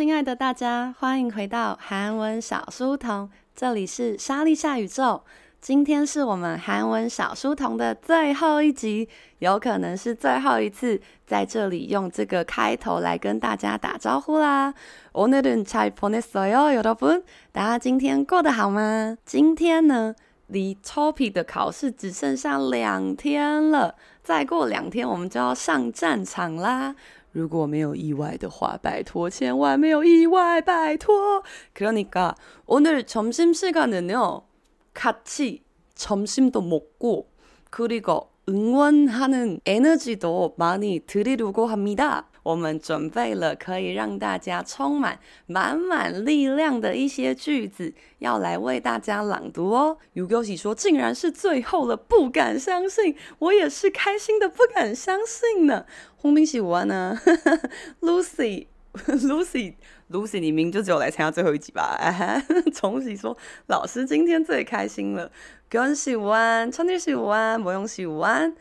親愛的大家，歡迎回到韓文小書童，這裡是莎莉夏宇宙。今天是我們韓文小書童的最後一集，有可能是最後一次在這裡用這個開頭來跟大家打招呼啦。오늘은 잘 보냈어요, 여러분? 大家今天過得好嗎？今天呢，離 TOPIK 的考試只剩下2天了，再過2天我們就要上戰場啦。如果沒有意外的話，拜託千萬沒有意外，拜託。그러니까 오늘 점심시간은요, 같이 점심도 먹고 그리고 응원하는 에너지도 많이 드리려고 합니다. 我們準備了可以讓大家充滿滿力量的一些句子，要來為大家朗讀哦。유교시說竟然是最後了，不敢相信，我也是開心的不敢相信呢。홍빈씨 우아나 Lucy 你明明就只有來參加最後一集吧？정씨說老師今天最開心了。교원씨 우안, 천일씨 우안, 모영씨 우안.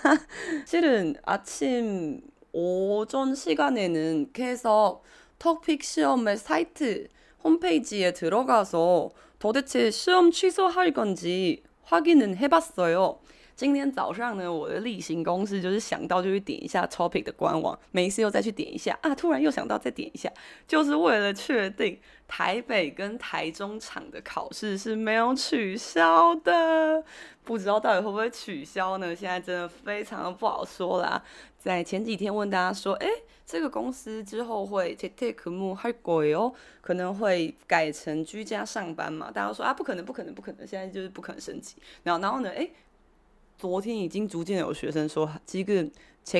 실은 아침 오전 시간에는 계속 토픽 시험의 사이트 홈페이지에 들어가서 도대체 시험 취소할 건지 확인은 해봤어요. 今天早上呢，我的例行公事就是想到就去點一下 TOPIK 的官網，沒事又再去點一下啊，突然又想到再點一下，就是為了確定台北跟台中場的考試是沒有取消的。不知道到底會不會取消呢？現在真的非常的不好說啦。在前幾天問大家說，這個公司之後會재택근무할 거예요，可能會改成居家上班嘛？大家都說啊，不可能，現在就是不可能升級。然後呢，昨天已經逐漸有學生說지금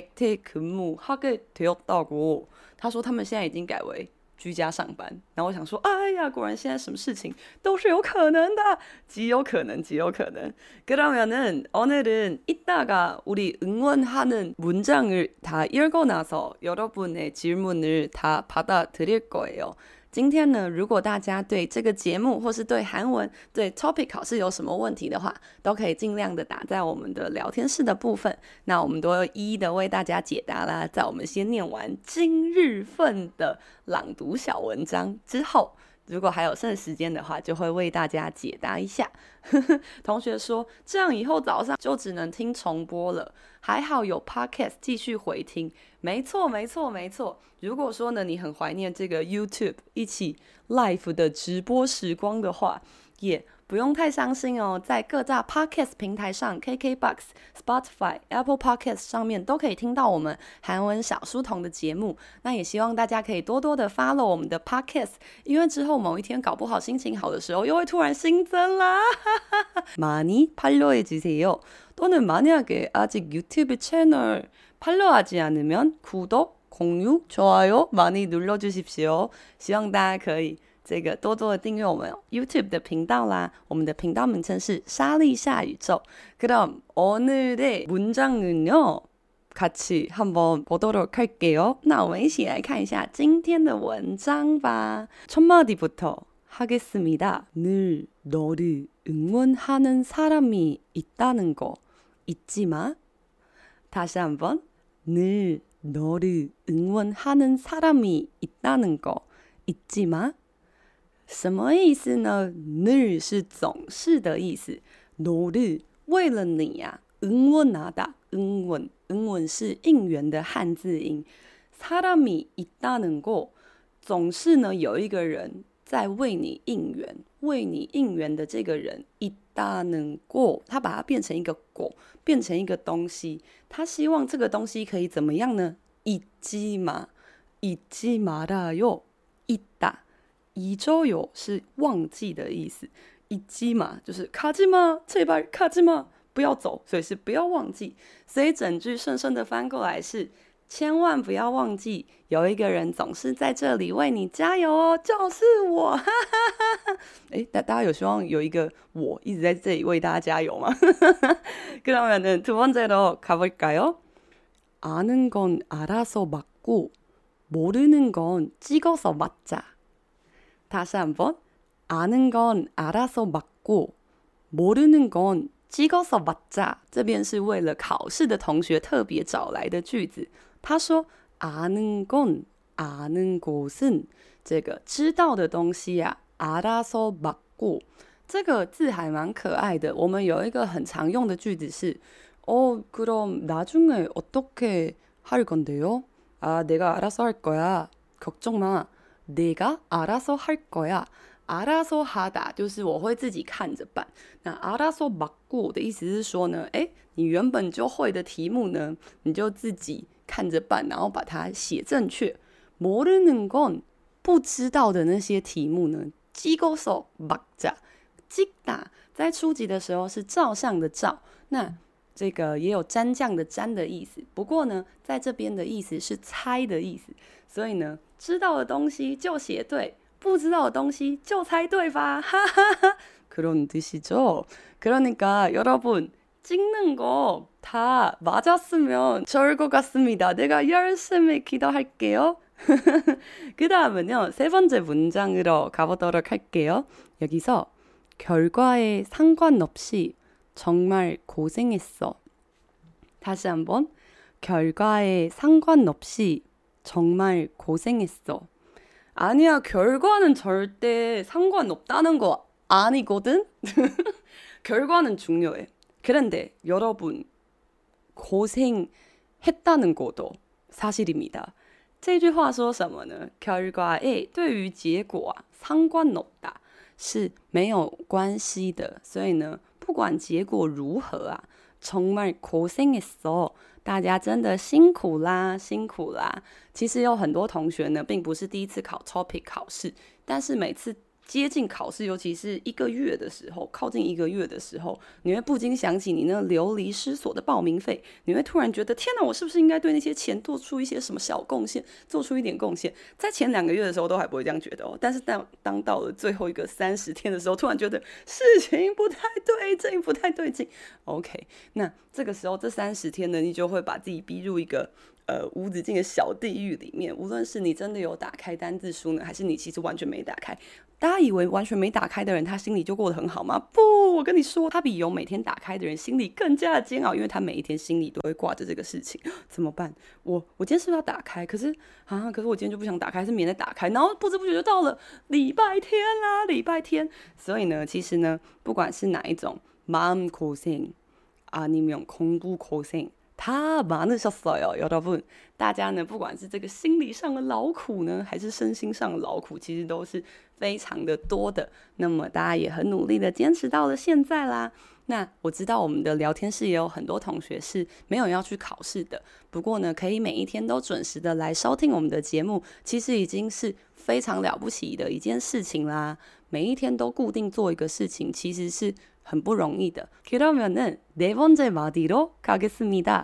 재택근무하게 되었다고，他說他們現在已經改為居家上班。然後我想說，哎呀，果然現在什麼事情都是有可能的，極有可能。그러면은 오늘은 이따가 우리 응원하는 문장을 다 읽고 나서 여러분의 질문을 다 받아드릴 거예요。今天呢，如果大家对這個節目或是對韓文、對 TOPIK 考試有什麼問題的話，都可以盡量的打在我們的聊天室的部分，那我們都會一一的為大家解答啦。在我們先念完今日份的朗讀小文章之後，如果還有剩時間的話，就會為大家解答一下。同學說，這樣以後早上就只能聽重播了，還好有 Podcast 繼續回聽。沒錯。如果說呢，你很懷念這個 YouTube 一起 live 的直播時光的話，也不用太傷心哦。在各大 Podcast 平台上 KKBOX、Spotify、Apple Podcast 上面都可以聽到我們韓文小書童的節目。那也希望大家可以多多的 follow 我們的 Podcast， 因為之後某一天搞不好心情好的時候又會突然新增啦。많이 팔로우해주세요。 또는 만약에 아직 유튜브 채널 팔로우하지 않으면 구독, 공유, 좋아요 많이 눌러주십시오。 希望大家可以多多的訂閱我們 YouTube 的頻道啦。我們的頻道名稱是莎莉夏宇宙。그럼 오늘의 문장은요, 같이 한번 보도록 할게요。 那我們一起來看一下今天的文章吧。첫 마디부터 하겠습니다. 늘 너를 응원하는 사람이 있다는 거 잊지 마. 다시 한번. 늘 너를 응원하는 사람이 있다는 거 잊지 마。 什麼意思呢？늘是總是的意思，너를為了你呀，응원하다 응원是應援的漢字音，사람이 있다는 거總是呢有一個人在為你應援，為你應援的這個人있다는 거，他把它變成一個果，變成一個東西，他希望這個東西可以怎麼樣呢？잊지 말아요。 잊다 잊어요是忘記的意思，잊지 마就是가지마 제발 가지마不要走，所以是不要忘記，所以整句順順的翻過來是千萬不要忘記有一個人總是在這裡為你加油哦，就是我。大家有希望有一個我一直在這裡為大家加油嗎？그러면은 두 번째로 가볼까요? 아는 건 알아서 맞고 모르는 건 찍어서 맞자. 다시 한번. 아는 건 알아서 맞고 모르는 건 찍어서 맞자. 這邊是為了考試的同學特別找來的句子。他說 아는 건 아는 곳은這個知道的東西啊，알아서 맡고這個字還蠻可愛的。我們有一個很常用的句子是그럼 나중에 어떻게 할 건데요? 아, 내가 알아서 할 거야. 걱정 마. 내가 알아서 할 거야. 알아서 하다就是我會自己看着辦。那알아서 맡고的意思是說呢，你原本就會的題目呢，你就自己看着辦，然後把它寫正確。모르는 건不知道的那些題目呢，찍어서 맡자。찍다在初級的時候是照相的照，那這個也有蘸醬的蘸的意思。不過呢，在這邊的意思是猜的意思，所以呢，知道的東西就寫對，不知道的東西就猜對吧？哈哈哈，그런 뜻이죠。그러니까 여러분 찍는 거 다 맞았으면 좋을 것 같습니다. 내가 열심히 기도할게요. 그 다음은요, 세 번째 문장으로 가보도록 할게요. 여기서 결과에 상관없이 정말 고생했어. 다시 한번. 결과에 상관없이 정말 고생했어. 아니야, 결과는 절대 상관없다는 거 아니거든? 결과는 중요해. 그런데 여러분, 고생했다는 것도 사실입니다. 這句話說什麼呢？ 결과에 對於結果啊，상관없다是沒有關係的，所以呢，不管結果如何啊，정말 고생했어，大家真的辛苦啦，辛苦啦。其實有很多同學呢，並不是第一次考 TOPIK 考試，但是每次接近考試，尤其是一個月的時候，靠近一個月的時候，你會不禁想起你那流離失所的報名費，你會突然覺得，天哪，我是不是應該對那些錢做出一些什麼小貢獻，做出一點貢獻？在前2個月的時候都還不會這樣覺得哦，但是當到了最後一個30天的時候，突然覺得事情不太對勁，不太對勁。OK， 那這個時候這30天呢，你就會把自己逼入一個無止境的小地獄裡面，無論是你真的有打開單字書呢，還是你其實完全沒打開。大家以為完全沒打開的人，他心裡就過得很好嗎？不，我跟你說，他比有每天打開的人心裡更加的煎熬，因為他每一天心裡都會掛着這個事情。怎麼辦？我今天是不是要打開？可是我今天就不想打開，是明天再打開，然後不知不覺就到了禮拜天啦，禮拜天。所以呢，其實呢，不管是哪一種마음고생 아니면 공부고생 다 많으셨어요, 여러분。大家呢，不管是這個心理上的勞苦呢，還是身心上的勞苦，其實都是非常的多的。那麼大家也很努力的堅持到了現在啦。那我知道我們的聊天室也有很多同學是沒有要去考試的，不過呢，可以每一天都準時的來收聽我們的節目，其實已經是非常了不起的一件事情啦。每一天都固定做一個事情，其實是很不容易的。그러면은 네 번째 마디로 가겠습니다.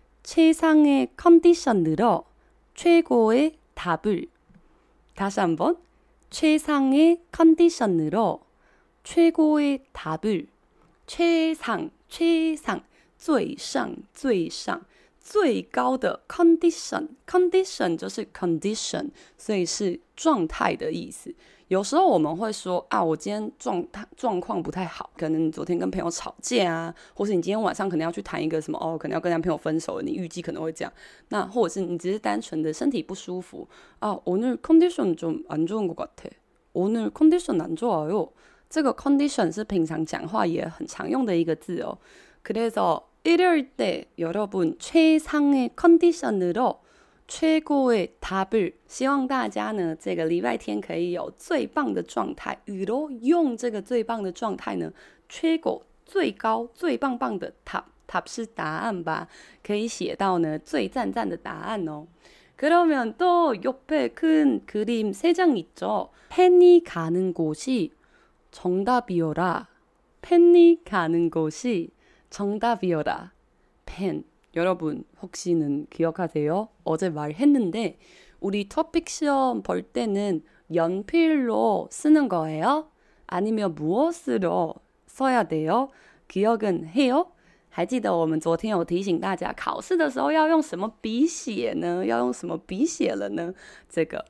최상의 컨디션으로 최고의 답을. 다시 한번. 최상의 컨디션으로 최고의 답을. 최상, 最上最高的 condition 就是 condition， 所以是狀態的意思。有時候我們會說啊，我今天狀況不太好，可能你昨天跟朋友吵架啊，或是你今天晚上可能要去談一個什麼可能要跟男朋友分手了，你預計可能會這樣。那或者是你只是單純的身體不舒服啊，오늘 컨디션 좀 안 좋은 것 같아. 오늘 컨디션 안 좋아요. 這個 condition 是平常講話也很常用的一個字哦。그래서 일요일 때 여러분 최상의 컨디션으로 최고의 답을， 希望大家呢這個禮拜天可以有最棒的狀態。으로用這個最棒的狀態呢，최고最高最棒棒的답是答案吧，可以寫到呢最讚讚的答案哦。그러면 또 옆에 큰 그림 3장 있죠. 펜이 가는 곳이 정답이어라. 펜이 가는 곳이 정답이어라. 펜. 여러분 혹시는 기억하세요? 어제 말했는데 우리 토픽 시험 볼 때는 연필로 쓰는 거예요? 아니면 무엇으로 써야 돼요? 기억은 해요? 還記得我們昨天有提醒大家考試的時候要用什麼筆寫呢？要用什麼筆寫了呢？這個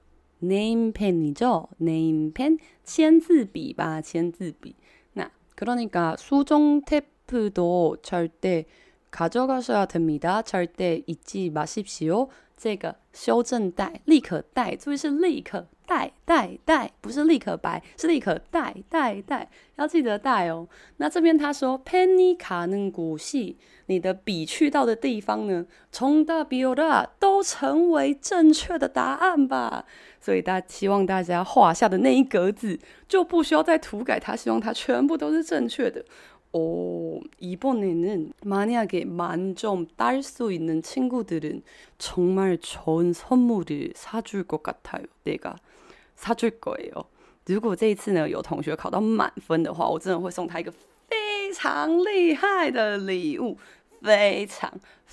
네임펜이죠. 네임펜 簽字筆吧，簽字筆。那그러니까 수정 테이프도 절대 가져가셔야 됩니다. 절대 잊지 마십시오.這個修正帶立可帶，注意是立可帶，不是立可白，是立可帶，要記得帶哦。那這邊他說펜이 가는 곳이，你的筆去到的地方呢，정답이오라都成為正確的答案吧。所以希望大家畫下的那一格字就不需要再塗改它，希望它全部都是正確的。이번에는 만약에 만점 딸 수 있는 친구들은 정말 좋은 선물을 사줄 것 같아요. 내가 사줄 거예요. 如果這一次呢有同學考到滿分的話，我真的會送他一個非常厲害的禮物，非常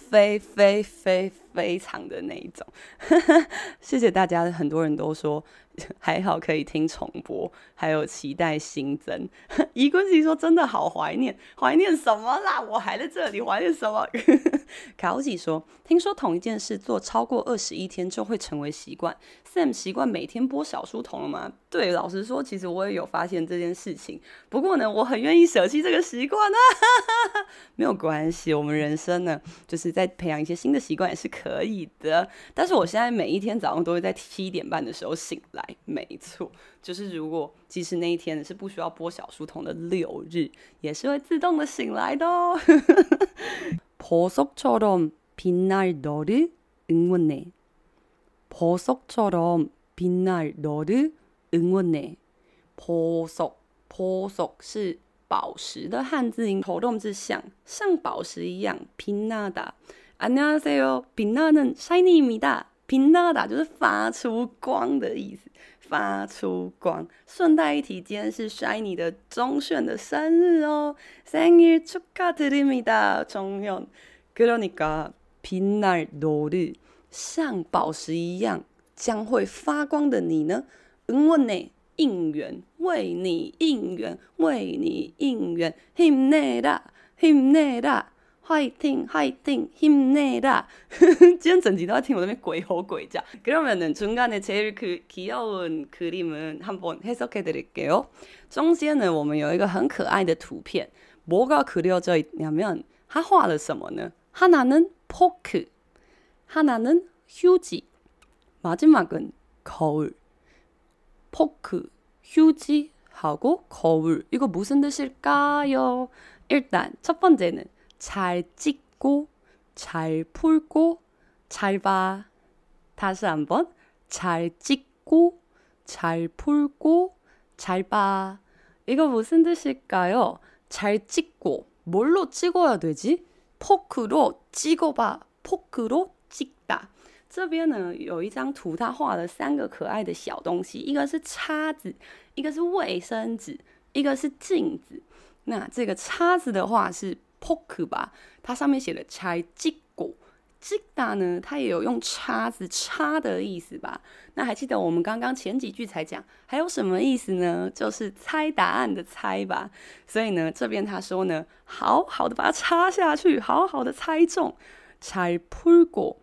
非常的那一種。謝謝大家，很多人都說還好可以聽重播，還有期待新增。怡君其實說真的好懷念什麼啦？我還在這裡懷念什麼？卡歐吉說，聽說同一件事做超過21天就會成為習慣。Sam 習慣每天播小書童了嗎？對，老實說，其實我也有發現這件事情。不過呢，我很願意捨棄這個習慣啊，沒有關係，我們人生呢，就是在培養一些新的習慣也是可以的。但是我現在每一天早上都會在7點半的時候醒來。沒錯，就是如果即使那一天是不需要播小書童的6日，也是會自動的醒來的哦。보석처럼 빛날 너를 응원해. 보석처럼 빛날 너를 응원해. 보석是寶石的漢字音，頭動字像寶石一樣。빛나다. 안녕하세요. 빛나는 샤이니입니다. 빛나다就是發出光的意思，發出光。順帶一提，今天是 Shiny 的鐘鉉的生日哦，생일 축하드립니다，鐘鉉。그러니까 빛날 너를像寶石一樣將會發光的你呢，응원해應援，為你應援，힘내라。화이팅 힘내라. 今天整集都在聽我那邊鬼吼鬼叫。그러면은 중간에 제일 귀여운 그림은 한번 해석해드릴게요. 中間呢，我們有一個很可愛的圖片，뭐가 그려져 있냐면，他畫了什麼呢？하나는 포크, 하나는 휴지, 마지막은 거울. 포크, 휴지하고 거울. 이거 무슨 뜻일까요? 일단 첫 번째는 잘 찍고, 잘 풀고, 잘 봐. 다시 한번 잘 찍고, 잘 풀고, 잘 봐. 이거 무슨 뜻일까요? 잘 찍고, 뭘로 찍어야 되지? 포크로 찍어봐. 포크로 찍다. 這邊呢有一張圖，它畫了3個可愛的小東西，一個是叉子，一個是衛生紙，一個是鏡子。那這個叉子的話是포크吧，它上面寫的잘 찍고，찍다呢，它也有用叉子插的意思吧？那還記得我們剛剛前幾句才講，還有什麼意思呢？就是猜答案的猜吧。所以呢，這邊他說呢，好好的把它插下去，好好的猜中。잘 풀고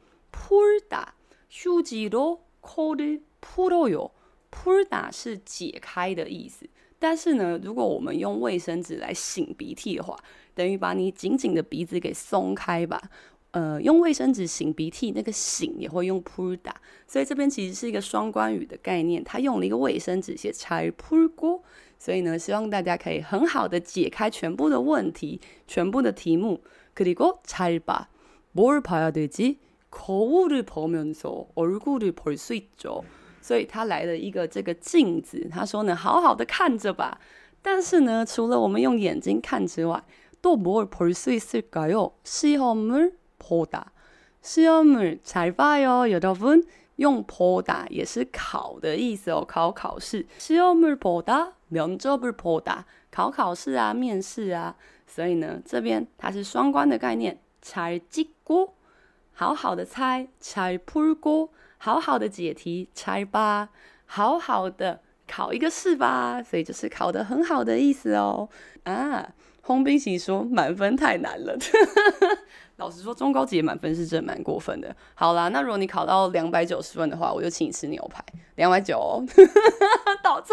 풀다，휴지로 코를 풀어요。풀다是解開的意思。但是呢，如果我們用衛生紙來擤鼻涕的話，等於把你緊緊的鼻子給鬆開吧。用衛生紙擤鼻涕，那個擤也會用풀다，所以這邊其實是一個雙關語的概念。他用了一個衛生紙寫잘 풀고，所以呢，希望大家可以很好的解開全部的問題，全部的題目。그리고 잘 봐， 뭘 봐야 되지？ 거울을 보면서 얼굴을 볼 수 있죠。所以他來了一個這個鏡子，他說呢，好好的看着吧。但是呢，除了我們用眼睛看之外，또 뭘 볼 수 있을까요? 시험을 보다. 시험을 잘 봐요, 여러분. 用보다也是考的意思哦，考試。시험을 보다, 면접을 보다. 考試啊，面試啊。所以呢，這邊它是雙關的概念。잘 찍고，好好的猜。잘 풀고，好好的解題。잘 봐，好好的考一個試吧。所以就是考得很好的意思哦。啊。홍冰喜說滿分太難了。老實說，中高級滿分是真的蠻過分的。好啦，那如果你考到290分的話，我就請你吃牛排，290哦，超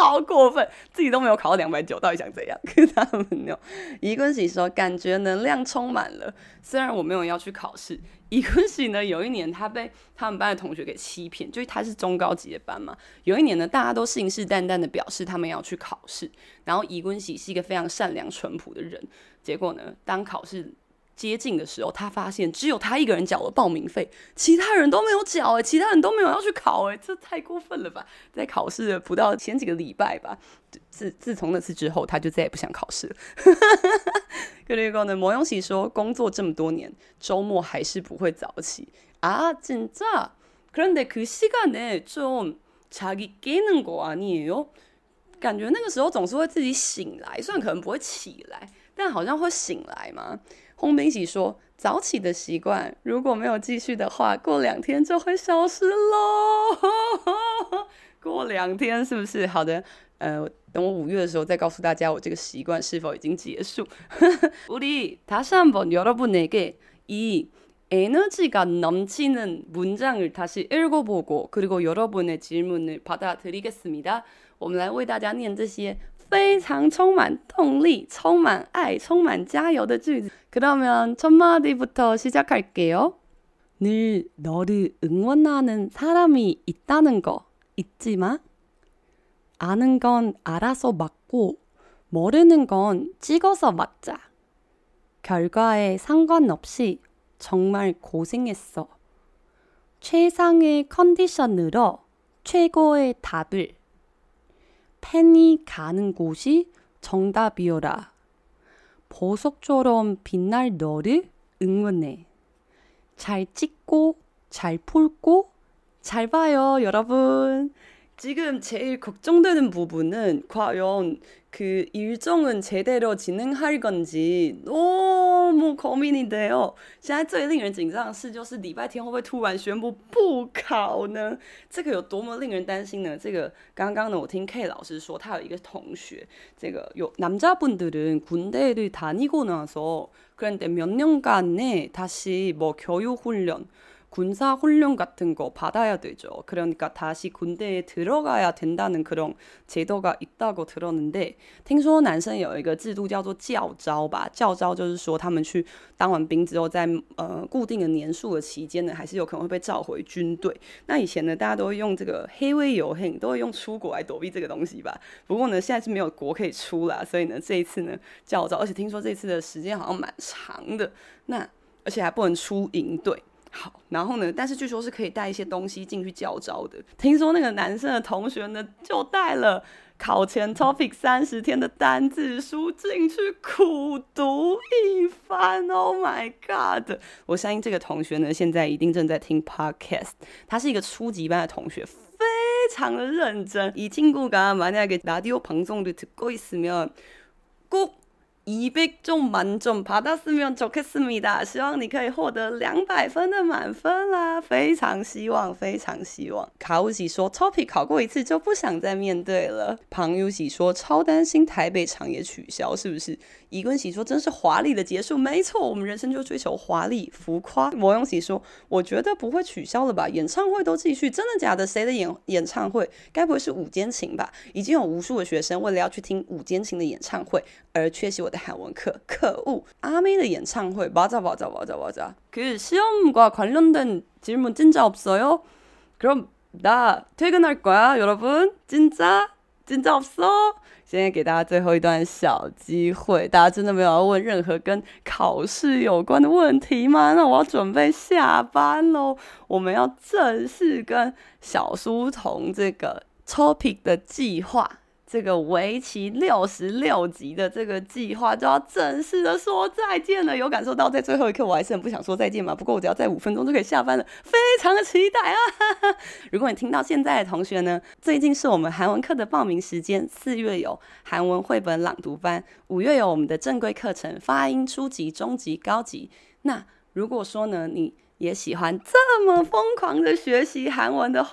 超過分，自己都沒有考到290，到底想怎樣？跟他們有伊君喜說，感覺能量充滿了。雖然我沒有要去考試，伊君喜呢，有一年他被他們班的同學給欺騙，就是他是中高級的班嘛。有一年呢，大家都信誓旦旦的表示他們要去考試，然後伊君喜是一個非常善良淳樸的人。結果呢，當考試接近的時候，他發現只有他一個人繳了報名費，其他人都沒有繳，其他人都沒有要去考，這太過分了吧？在考試的不到前幾個禮拜吧，自從那次之後，他就再也不想考試了。그리고呢，모영 씨說，工作這麼多年，周末還是不會早起啊，진짜？그런데 그 시간에 좀 자기 깨는 거 아니에요？感覺那個時候總是會自己醒來，雖然可能不會起來，但好像會醒來嘛。홍빈喜說，早起的習慣如果沒有繼續的話，過2天就會消失咯。過2天是不是？好的，等我5月的時候再告訴大家我這個習慣是否已經結束。우리 다시 한번 여러분에게 이 에너지가 넘치는 문장을 다시 읽어보고 그리고 여러분의 질문을 받아드리겠습니다. 我們來為大家念這些非常充滿動力、充滿愛、充滿加油的句子。그러면 첫 마디부터 시작할게요. 늘 너를 응원하는 사람이 있다는 거 잊지 마. 아는 건 알아서 맞고 모르는 건 찍어서 맞자. 결과에 상관없이 정말 고생했어. 최상의 컨디션으로 최고의 답을. 펜이 가는 곳이 정답이오라. 보석처럼 빛날 너를 응원해. 잘 찍고 잘 풀고 잘 봐요, 여러분. 지금 제일 걱정되는 부분은 과연 그 일정은 제대로 진행할 건지 너무 고민이 돼요. 现在最令人緊張的事就是禮拜天會不會突然宣布不考呢？這個有多麼令人擔心呢？這個剛剛呢，我聽 K 老師說，他有一個同學，這個有남자분들은 군대를 다니고 나서 그런데 몇 년간에 다시 뭐 교육훈련 군사훈련 같은 거 받아야 되죠. 그러니까 다시 군대에 들어가야 된다는 그런 제도가 있다고 들었는데 聽說男生有一個制度叫做教召吧，教召就是說他們去當完兵之後在固定的年數的期間呢，還是有可能會被召回軍隊。那以前呢，大家都會用這個해외여행，都會用出國來躲避這個東西吧。不過呢，現在是沒有國可以出啦，所以呢，這一次呢教召，而且聽說這次的時間好像蠻長的，那而且還不能出營隊。好，然後呢，但是據說是可以帶一些東西進去教召的。聽說那個男生的同學呢，就帶了考前 TOPIK 30天的單字書進去苦讀一番。Oh my god！ 我相信這個同學呢，現在一定正在聽 podcast。他是一個初級班的同學，非常的認真。이 친구가 만약에 라디오 방송을 듣고 있으면 꼭 200점 만점 받았으면 좋겠습니다. 希望你可以獲得200分的滿分啦，非常希望，非常希望。卡烏喜說 TOPIK 考過一次就不想再面對了。龐優喜說超擔心台北場也取消，是不是？伊君喜說真是華麗的結束，沒錯，我們人生就追求華麗浮誇。摩永喜說我覺得不會取消了吧，演唱會都繼續，真的假的？誰的演唱會？該不會是五間琴吧？已經有無數的學生為了要去聽五間琴的演唱會而缺席我的韓文課，可惡！阿妹的演唱會맞아. 그 시험과 관련된 질문 진짜 없어요? 그럼 나 퇴근할 거야, 여러분. 진짜 없어? 现在給大家最後一段小機會，大家真的沒有要問任何跟考試有關的問題嗎？那我要準備下班咯。我們要正式跟小書童這個 TOPIK 的計劃，這個為期66集的這個計劃就要正式的說再見了。有感受到在最後一刻我還是很不想說再見嗎？不過我只要再5分鐘就可以下班了，非常的期待啊！如果你聽到現在的同學呢，最近是我們韓文課的報名時間，4月有韓文繪本朗讀班，5月有我們的正規課程發音初級、中級、高級。那如果說呢，你也喜歡這麼瘋狂的學習韓文的話，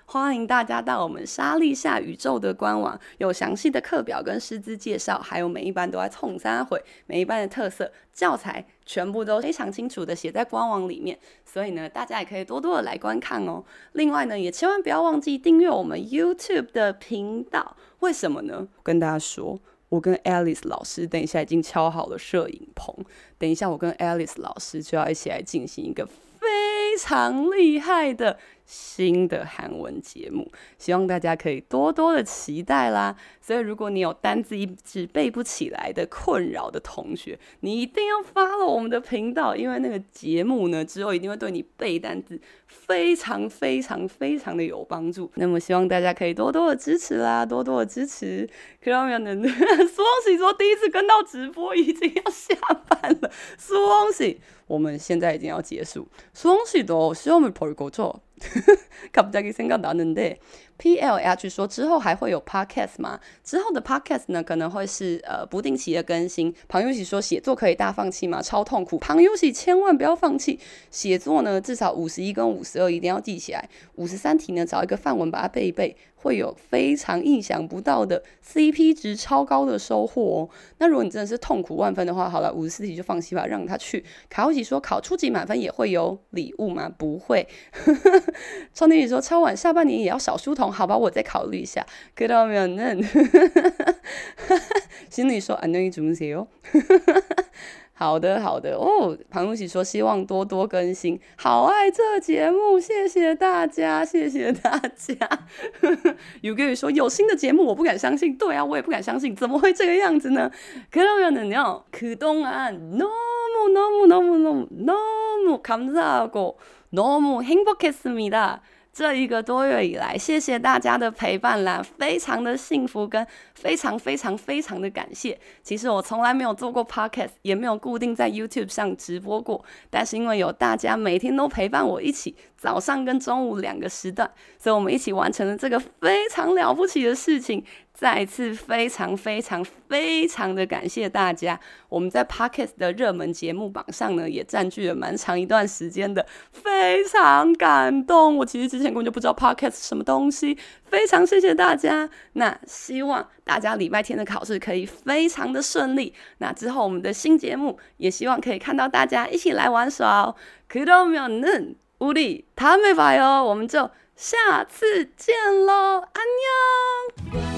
歡迎大家到我們莎莉夏宇宙的官網，有詳細的課表跟師資介紹，還有每一班都在衝三回，每一班的特色教材全部都非常清楚的寫在官網裡面，所以呢，大家也可以多多的來觀看哦。另外呢，也千萬不要忘記訂閱我們 YouTube 的頻道。為什麼呢？跟大家說，我跟 Alice 老師等一下已經敲好了攝影棚，等一下我跟 Alice 老師就要一起來進行一個非常厲害的新的韓文節目，希望大家可以多多的期待啦。所以如果你有單字一直背不起來的困擾的同學，你一定要 follow 我們的頻道，因為那個節目呢之後一定會對你背單字非常非常非常的有幫助。那麼希望大家可以多多的支持啦，多多的支持。그러면은 수홍씨說第一次跟到直播已經要下班了，수홍씨我們現在已經要結束。수홍씨도 시험을 볼 거죠? 갑자기 생각나는데 PLH 說之後還會有 podcast 嗎？之後的 podcast 呢可能會是不定期的更新。龐優喜說寫作可以大放棄嗎？超痛苦。龐優喜千萬不要放棄寫作呢，至少51跟52一定要記起來。53題呢找一個範文把它背一背，會有非常意想不到的 CP 值超高的收穫哦。那如果你真的是痛苦萬分的話，好了，54題就放棄吧，讓他去。卡歐喜說考初級滿分也會有禮物嗎？不會。窗天宇說超晚下半年也要小書童，好吧，我再考慮一下。그러면은心裡說안녕히 주무세요。好的好的哦，龐露喜說希望多多更新，好愛這節目，謝謝大家，謝謝大家。有個人說有新的節目，我不敢相信。對啊，我也不敢相信，怎麼會這個樣子呢？그러면은요 그동안 너무 감사하고 너무 행복했습니다。這一個多月以來，謝謝大家的陪伴啦，非常的幸福跟非常非常非常的感謝。其實我從來沒有做過 podcast， 也沒有固定在 YouTube 上直播過，但是因為有大家每天都陪伴我一起，早上跟中午2個時段，所以我們一起完成了這個非常了不起的事情。再一次非常非常非常的感謝大家，我們在 Podcast 的熱門節目榜上呢，也佔據了蠻長一段時間的，非常感動。我其實之前根本就不知道 Podcast 是什麼東西，非常謝謝大家。那希望大家禮拜天的考試可以非常的順利。那之後我們的新節目也希望可以看到大家一起來玩耍哦。그러면은 우리 다음에 봐요。我們就下次見嘍，안녕。